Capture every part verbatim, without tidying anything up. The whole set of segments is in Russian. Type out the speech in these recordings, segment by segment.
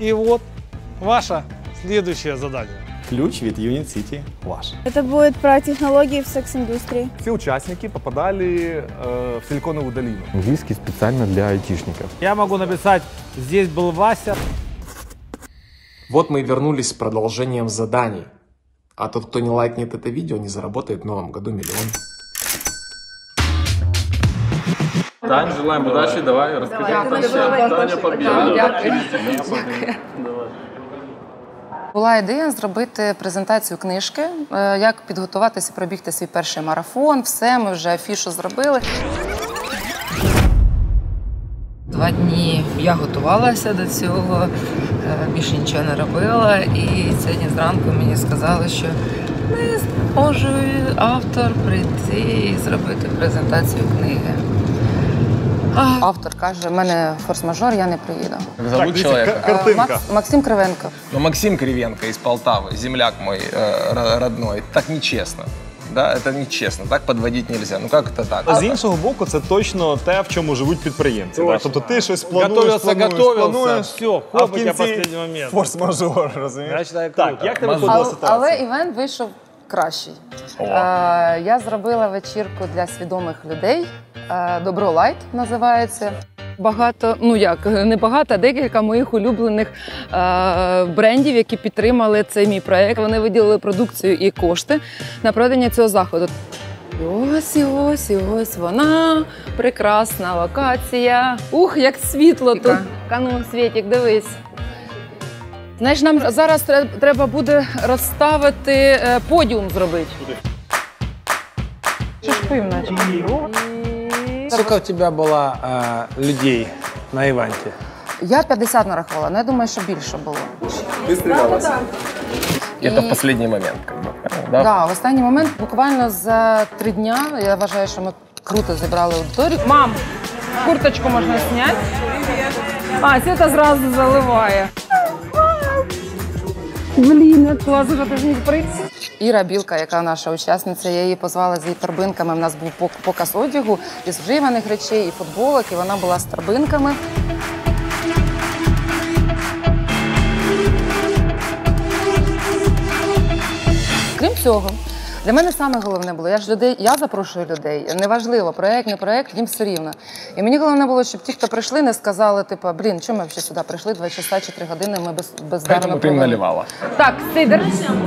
И вот ваше следующее задание. Ключ від Unit City ваш. Это будет про технологии в секс-индустрии. Все участники попадали э, в Силиконовую долину. Английский специально для айтишников. Я могу написать, здесь был Вася. Вот мы и вернулись с продолжением заданий. А тот, кто не лайкнет это видео, не заработает в новом году миллион. Тань, желаем удачи, давай, расскажи. Таня побіда. Була ідея зробити презентацію книжки, як підготуватися, пробігти свій перший марафон, все, ми вже афішу зробили. Два дні я готувалася до цього, більше нічого не робила, і сьогодні зранку мені сказали, що не зможе автор прийти і зробити презентацію книги. А автор каже, в мене форс-мажор, я не приїду. Как зовут человека? Картинка. Макс, Максим Кривенко. Ну, Максим Кривенко из Полтавы, земляк мой э, родной. Так нечестно. Да, это нечесно, так подводить нельзя. Ну как это так? А з іншого боку, це точно те, в чому живуть підприємці. Да? Тобто ти щось плануєш, Готовился, плануєш, готовился, плануєш, все, а хоп, в у тебя кінці последний момент. форс-мажор, розумієш? Я считаю, Так, круто. як тебе Мазур. виходила Але, ситуація? але івент вийшов кращий. Е, я зробила вечірку для свідомих людей. Е, Добро Лайт називається. Багато, ну як, не багато, а декілька моїх улюблених е, брендів, які підтримали цей мій проєкт. Вони виділили продукцію і кошти на проведення цього заходу. І ось, і ось, і ось вона, прекрасна локація. Ух, як світло тут. Кану, Світік, дивись. Знаєш, нам зараз треба буде розставити, е, подіум зробити. Що ж пив, наче? Сколько у тебя было э, людей на ивенте? Я п'ятдесят нарахувала, але я думаю, що більше було. Это в последний момент, как бы. Да? Да, в останній момент, буквально за три дня, я вважаю, що ми круто зібрали аудиторію. Мам, курточку можна зняти? А, Свята зразу заливає. Блін, як класно, що ти ж не прийти. Іра Білка, яка наша учасниця, я її позвала з її торбинками. У нас був показ одягу із вживаних речей, і футболок, і вона була з торбинками. Крім цього, для мене саме головне було, я ж людей, я запрошую людей, неважливо, проєкт, не проєкт, їм все рівно. І мені головне було, щоб ті, хто прийшли, не сказали, типу, блін, чому ми взагалі сюди прийшли, два часа чи три години, ми без, бездарно Поэтому ты им наливала. Так, сидер.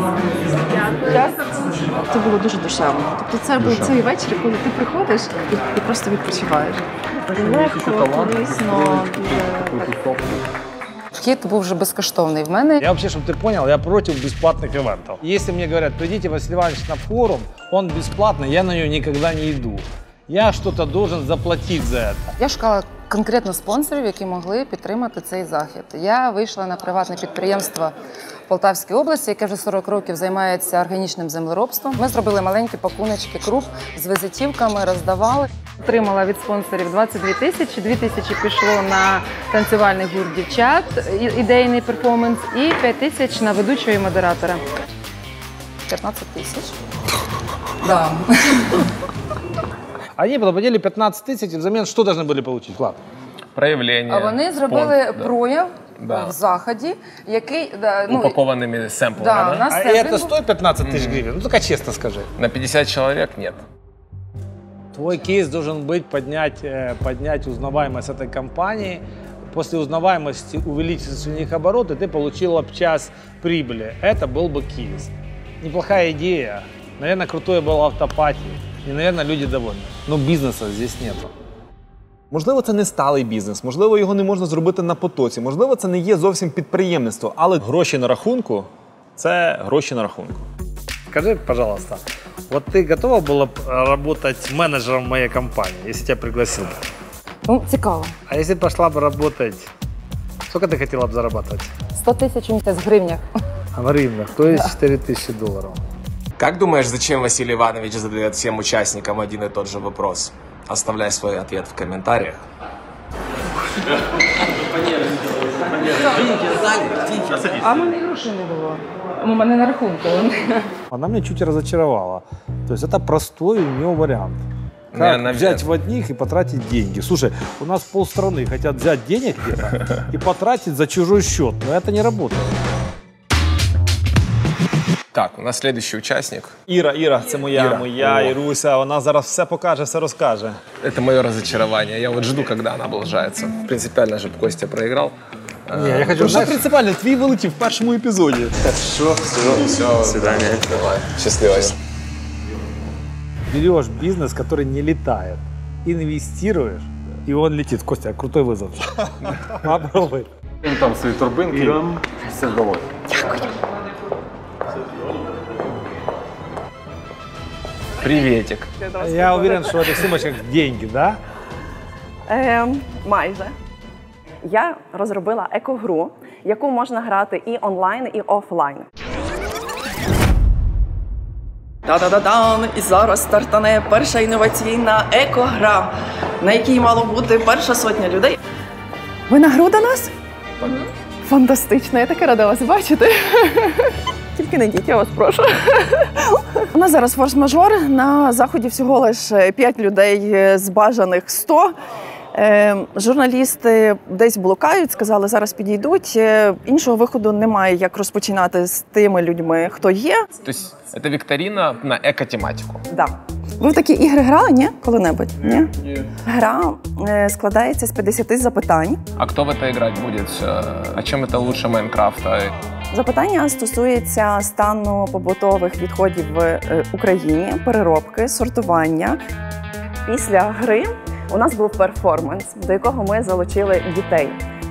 Це було дуже душевно. Тобто це був цей вечір, коли ти приходиш і, і просто відпочиваєш. Легко, корисно, дуже... Вхід був вже безкоштовний в мене. Я вообще, чтобы ты понял, я против бесплатных ивентов. Если мне говорят, придите, Василий Иванович, на форум, он бесплатный, я на него никогда не иду. Я что-то должен заплатить за это. Я шукала конкретно спонсорів, які могли підтримати цей захід. Я вийшла на приватне підприємство в Полтавській області, яке вже сорок років займається органічним землеробством. Ми зробили маленькі пакуночки круп з візитівками, роздавали. Отримала від спонсорів двадцять дві тисячі, дві тисячі пішло на танцювальний гурт дівчат, ідейний перформанс, і п'ять тисяч на ведучого і модератора. п'ятнадцять тисяч. Да. Они платили пятнадцать тысяч, и взамен что должны были получить, Влад? Проявление. А вони зробили спонт, да. прояв Да. в заході, який... Да, ну, Упакованными сэмплами, да, да? у нас А семплінг это був. стоит пятнадцать тысяч гривен? Ну, только честно скажи. На пятьдесят человек нет. Твой кейс должен быть поднять, э, поднять узнаваемость этой компании. После узнаваемости увеличить у них обороты, ты получил об час прибыли. Это был бы кейс. Неплохая идея. Наверное, крутой был автопати. И, наверное, люди довольны. Но бизнеса здесь нету. Можливо, це не сталий бізнес, можливо, його не можна зробити на потоці, можливо, це не є зовсім підприємництво, але гроші на рахунку – це гроші на рахунку. Скажи, пожалуйста, вот ты готова была работать менеджером в моей компании, если тебя пригласил? Ну, цікаво. А если пошла бы работать, сколько ты хотела бы зарабатывать? сто тисяч у місяць в гривнях. А в гривнах, то есть четыре тысячи долларов. Как думаешь, зачем Василий Иванович задает всем участникам один и тот же вопрос? Оставляй свой ответ в комментариях. А в мене грошей не було. У мене на рахунку. Она меня чуть разочаровала. То есть это простой у нее вариант. Как наверное, взять в одних и потратить деньги? Слушай, у нас полстраны хотят взять денег где-то и потратить за чужой счет, но это не работает. Так, у нас следующий участник. Іра, Іра, це моя, Іра. моя О. Іруся. Вона зараз все покаже, все розкаже. Это мое разочарование. Я вот жду, когда она облажается. Принципиально же Костя проиграл. Не, я хочу, Дуже знаешь, принципіально, твій вилетів в першому епізоді. Все, все, все. До свидания. Давай, счастливо. берешь бизнес, который не летает, инвестируешь, и он летит. Костя, крутой вызов. Попробуй. Там свої турбинки, все вдалося. Приветик. Я уверен, что в этих сумочках деньги, да? Е, майже. Я розробила екогру, яку можна грати і онлайн, і офлайн. Та-да-да-дан! І зараз стартане перша інноваційна екогра, на якій мало бути перша сотня людей. Ви на гру до нас? Фантастично, я таке рада вас бачити. Тільки не йдіть, я вас прошу. У нас зараз форс-мажор. На заході всього лише п'ять людей з бажаних сто. Е, журналісти десь блукають, сказали, зараз підійдуть. Е, іншого виходу немає, як розпочинати з тими людьми, хто є. То есть это викторина на эко-тематику. Да. Ви в такі ігри грали, ні? Коли-небудь? Ні? Ні. Гра е, складається з п'ятдесят запитань. А кто в это играть будет? А чем это лучше Майнкрафта? Запитання стосуються стану побутових відходів в е, Україні, переробки, сортування. Після гри у нас був перформанс, до якого ми залучили дітей.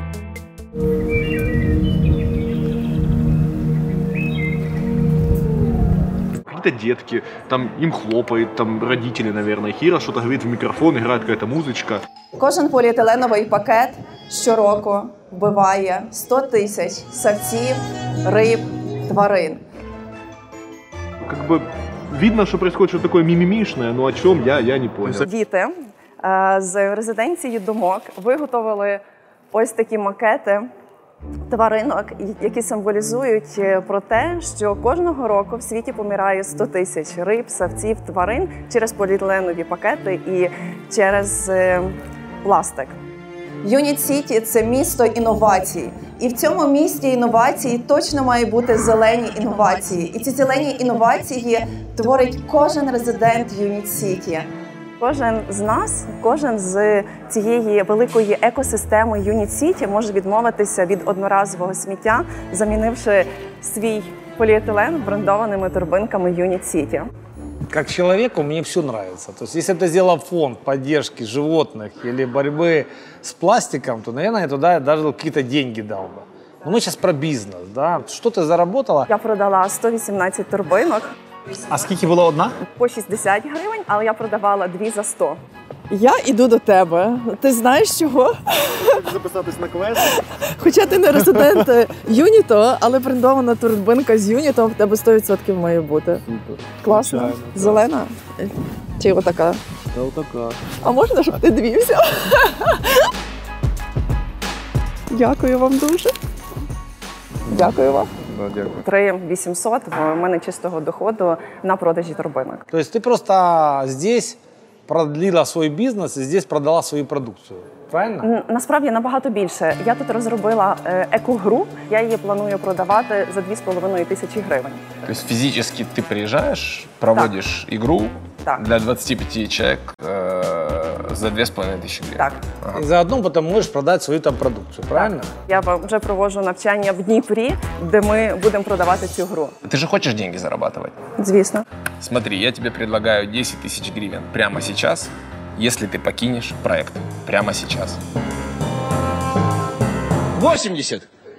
Какие-то детки, там им хлопают, там родители, наверное. Кира что-то говорит в микрофон, играет какая-то музычка. Кожен поліетиленовий пакет щороку вбиває сто тисяч савців, риб, тварин. Как бы видно, что происходит что-то такое мимимишное, но о чем я, я не понял. Діти е, з резиденції Думок виготовили ось такі макети тваринок, які символізують про те, що кожного року в світі помирає сто тисяч риб, савців, тварин через поліетиленові пакети і через е, пластик. Юніт Сіті – це місто інновацій. І в цьому місті інновацій точно має бути зелені інновації. І ці зелені інновації творить кожен резидент Юніт Сіті. Кожен з нас, кожен з цієї великої екосистеми Юніт Сіті може відмовитися від одноразового сміття, замінивши свій поліетилен брендованими торбинками Юніт Сіті. Как человеку мне все нравится. То есть, если бы ты сделал фонд поддержки животных или борьбы с пластиком, то, наверное, я туда даже какие-то деньги дал бы. Но мы сейчас про бизнес, да? Что ты заработала? Я продала сто вісімнадцять торбинок. А скільки була одна? По шістдесят гривень, але я продавала дві за сто. Я іду до тебе. Ти знаєш чого? Записатись на квест. Хоча ти не резидент Юніто, але брендована турбинка з Юнітом в тебе сто відсотків має бути. Класно. Звичайно, так. Зелена? Чи отака? Да, вот такая. А можна, щоб ти дві взяв? Дякую вам дуже. Дякую вам. Да, дякую. три тисячі вісімсот в мене чистого доходу на продажі торбинок. То есть ты просто здесь продлила свой бизнес и здесь продала свою продукцию, правильно? Н- Насправді набагато більше. Я тут розробила е, екогру, я її планую продавати за дві з половиною тисячі гривень. То есть физически ты приезжаешь, проводишь игру Так. для двадцати пяти человек э, за две с половиной тысячи гривен. Так. Ага. И заодно потом можешь продать свою там продукцию, правильно? Я вам вже проводжу навчання в Дніпрі, де ми будемо продавати цю гру. Ты же хочешь деньги зарабатывать? Звісно. Смотри, я тебе предлагаю десять тысяч гривен прямо сейчас, если ты покинешь проект. Прямо сейчас. восемьдесят.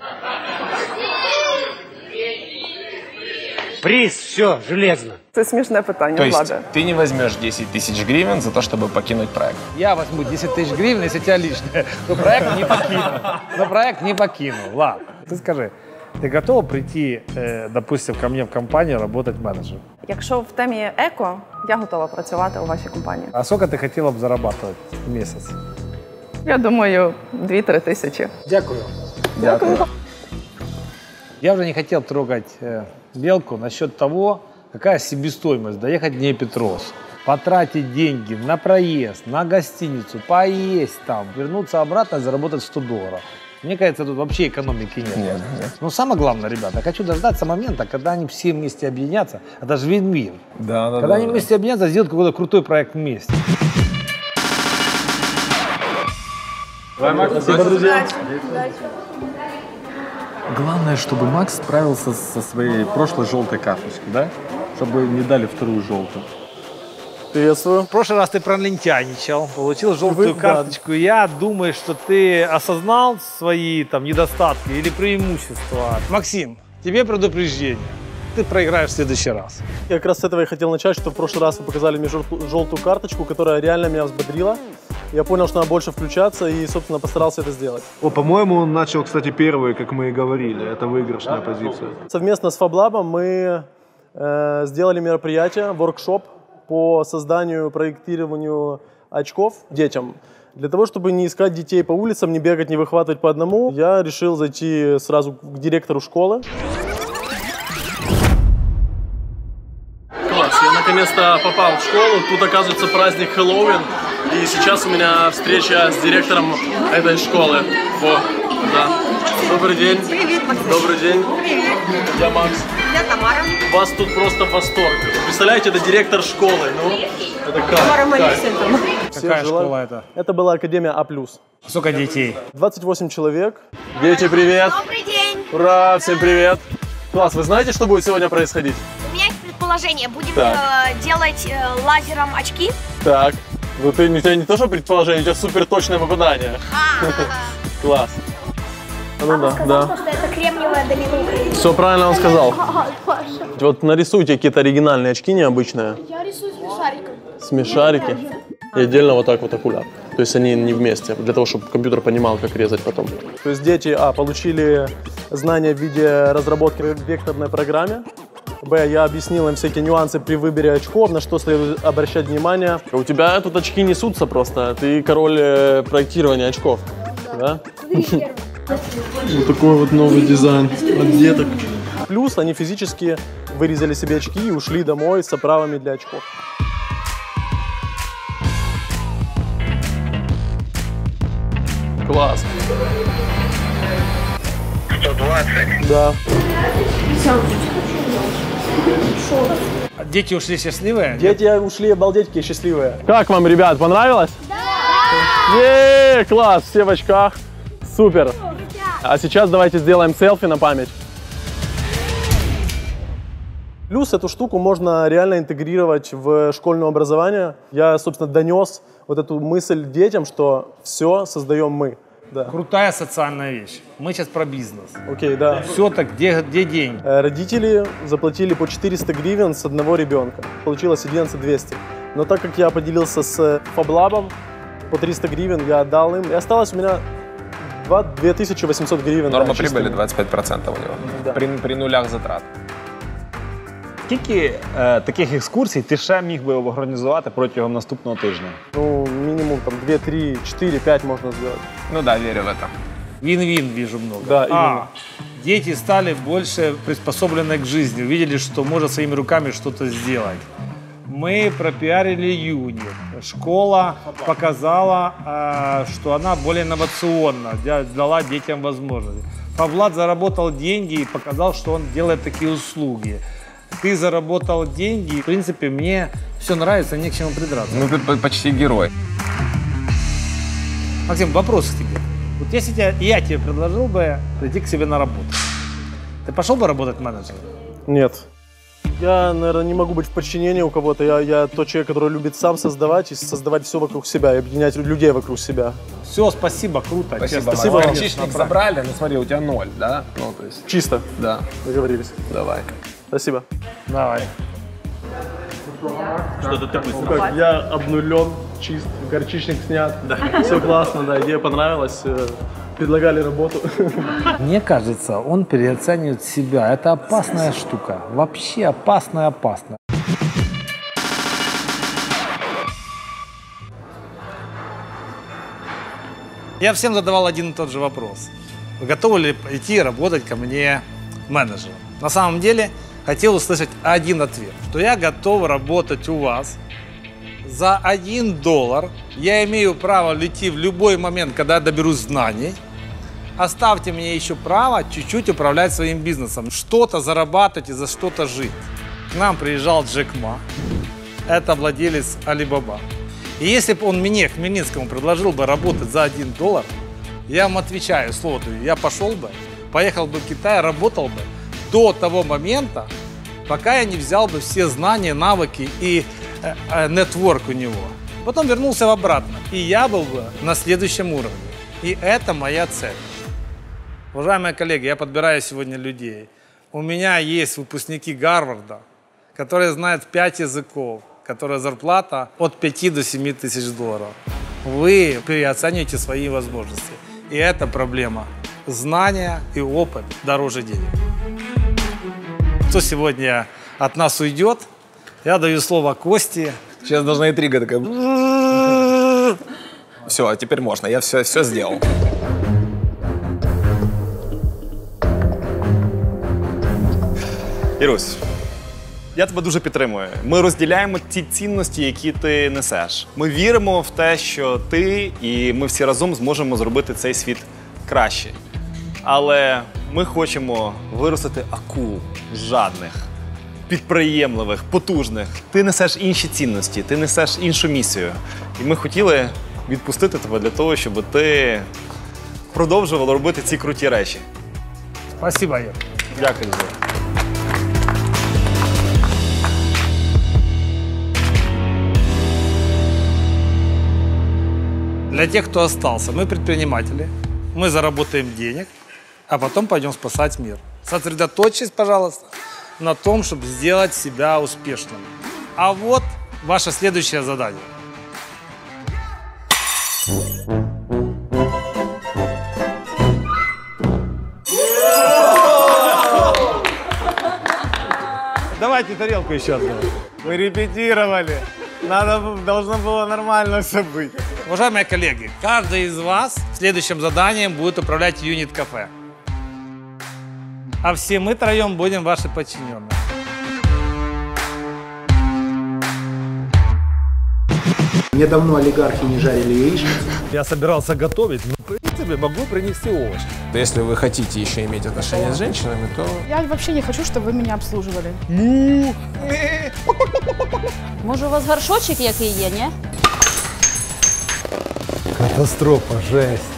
Приз, все, железно. Це смішне питання, То есть Влада. ты не возьмешь десять тысяч гривен за то, чтобы покинуть проект. Я возьму десять тысяч гривен, если у тебя лишнее. Но проект не покину. Но проект не покину. Ладно, ты скажи, ты готова прийти, э, допустим, ко мне в компанию работать менеджером? Якщо в темі еко, я готова працювати у вашій компанії. А сколько ты хотела бы зарабатывать в месяц? Я думаю, дві-три тисячі. Дякую. Дякую. Я уже не хотел трогать э, Белку насчет того, какая себестоимость доехать в Днепропетровск. потратить деньги на проезд, на гостиницу, поесть там, вернуться обратно и заработать сто долларов. Мне кажется, тут вообще экономики нет. Нет, нет. Но самое главное, ребята, хочу дождаться момента, когда они все вместе объединятся. Это же вин-вин. Да, да, когда да, они да. вместе объединятся, сделают какой-то крутой проект вместе. Давай, Макс. Спасибо, друзья. Главное, чтобы Макс справился со своей прошлой желтой карточкой, да? Чтобы не дали вторую желтую. Приветствую. В прошлый раз ты пролентяничал, получил желтую Вы- карточку. Я думаю, что ты осознал свои там недостатки или преимущества. Максим, тебе предупреждение. Ты проиграешь в следующий раз. Я как раз с этого и хотел начать, что в прошлый раз вы показали мне желтую, желтую карточку, которая реально меня взбодрила. Я понял, что надо больше включаться и, собственно, постарался это сделать. О, по-моему, он начал, кстати, первый, как мы и говорили. Это выигрышная позиция. Совместно с FabLab мы э, сделали мероприятие, воркшоп по созданию, проектированию очков детям. Для того, чтобы не искать детей по улицам, не бегать, не выхватывать по одному, я решил зайти сразу к директору школы. Класс, я наконец-то попал в школу. Тут, оказывается, праздник Хэллоуин. И сейчас у меня встреча с директором этой школы. О, да. Добрый день. Привет, Максим. Добрый день. Привет. Я Макс. Я Тамара. У вас тут просто восторг. Представляете, это директор школы. Ну, это как? Тамара Как? Малисенко. Какая школа это? Это была Академия А+. Сколько детей? двадцать восемь человек. Дети, привет. Добрый день. Ура, всем привет. Класс, вы знаете, что будет сегодня происходить? У меня есть предположение. Будем Так. э, делать э, лазером очки. Так, ну ты, у тебя не то, что предположение, у тебя супер точное попадание. Класс. А ну да, да. что это кремниевая доминуха. Все правильно он сказал. Паша. Вот нарисуйте какие-то оригинальные очки необычные. Я рисую смешариком. Смешарики. И отдельно вот так вот окуляр. То есть они не вместе, для того, чтобы компьютер понимал, как резать потом. То есть дети, а, получили знания в виде разработки в векторной программе. Б, я объяснил им всякие нюансы при выборе очков, на что следует обращать внимание. У тебя тут очки несутся просто, ты король э, проектирования очков. Да? Вот такой вот новый дизайн от деток. Плюс они физически вырезали себе очки и ушли домой с оправами для очков. Класс. сто двадцать. Да. Дети ушли счастливые? Дети ушли обалдеть какие счастливые. Как вам, ребят, понравилось? Да! Е-е-е, класс, все в очках. Супер. А сейчас давайте сделаем селфи на память. Плюс эту штуку можно реально интегрировать в школьное образование. Я, собственно, донес вот эту мысль детям, что все создаем мы. Да. Крутая социальная вещь. Мы сейчас про бизнес. Окей, да. Все так, где, где деньги? Э, Родители заплатили по четыреста гривен с одного ребенка. Получилось одиннадцать тысяч двести. Но так как я поделился с FabLab, по триста гривен я отдал им. И осталось у меня две тысячи восемьсот гривен. Норма да, прибыли чистыми. двадцять пять процентов у него. Да. При, при нулях затрат. Скільки е, таких екскурсій ти ще міг би організувати протягом наступного тижня? Ну, минимум там две, три, четыре, пять можно сделать. Ну да, верю в это. Вин-вин вижу много. Да, именно. А, дети стали больше приспособлены к жизни, увидели, что можно своими руками что-то сделать. Мы пропиарили юнит. Школа показала, э, что она более инновационна, дала детям возможности. FabLab заработал деньги и показал, что он делает такие услуги. Ты заработал деньги, в принципе, мне все нравится, не к чему придраться. Ну ты почти герой. Максим, вопрос к тебе. Вот если я, я тебе предложил бы прийти к себе на работу, ты пошел бы работать менеджером? Нет. Я, наверное, не могу быть в подчинении у кого-то. Я, я тот человек, который любит сам создавать и создавать все вокруг себя, и объединять людей вокруг себя. Все, спасибо, круто. Спасибо, честно. спасибо. вам. Горчичник забрали, ну смотри, у тебя ноль, да? Ну, то есть... Чисто. Да. Договорились. Давай. Спасибо. Давай. Что-то такое. Ну как, я обнулен, чист, горчичник снят. Да. Все классно, да, идея понравилась. Предлагали работу. Мне кажется, он переоценивает себя. Это опасная штука. Вообще опасная, опасная. Я всем задавал один и тот же вопрос. Вы готовы ли идти работать ко мне менеджером? На самом деле, хотел услышать один ответ, что я готов работать у вас За один доллар я имею право лететь в любой момент, когда я доберусь знаний. Оставьте мне еще право чуть-чуть управлять своим бизнесом, что-то зарабатывать и за что-то жить. К нам приезжал Джек Ма, это владелец Alibaba. И если бы он мне, Хмельницкому, предложил бы работать за один доллар, я вам отвечаю, слово даю, я пошел бы, поехал бы в Китай, работал бы до того момента, пока я не взял бы все знания, навыки и э, э, нетворк у него. Потом вернулся обратно, и я был бы на следующем уровне. И это моя цель. Уважаемые коллеги, я подбираю сегодня людей. У меня есть выпускники Гарварда, которые знают пять языков, которая зарплата от пяти до семи тысяч долларов. Вы переоцениваете свои возможности. И это проблема. Знания и опыт дороже денег. Кто сегодня от нас уйдет, я даю слово Косте. Сейчас должна интрига такая. Все, а теперь можно, я все, все сделал. Ірусь, я тебе дуже підтримую. Ми розділяємо ті цінності, які ти несеш. Ми віримо в те, що ти і ми всі разом зможемо зробити цей світ краще. Але ми хочемо виростити акул жадних, підприємливих, потужних. Ти несеш інші цінності, ти несеш іншу місію. І ми хотіли відпустити тебе для того, щоб ти продовжував робити ці круті речі. Спасибо, Ір. Дякую. Для тех, кто остался, мы предприниматели, мы заработаем денег, а потом пойдем спасать мир. Сосредоточьтесь, пожалуйста, на том, чтобы сделать себя успешным. А вот ваше следующее задание. Давайте тарелку еще одну. Мы репетировали. Надо, должно было нормально все быть. Уважаемые коллеги, каждый из вас следующим заданием будет управлять юнит-кафе. А все мы троем будем ваши подчиненные. Мне давно олигархи не жарили яичницу. Я собирался готовить, но в принципе могу принести овощи. Если вы хотите еще иметь отношения с женщинами, то... Я вообще не хочу, чтобы вы меня обслуживали. Може, у вас горшочок який є, ні? Катастрофа, жесть.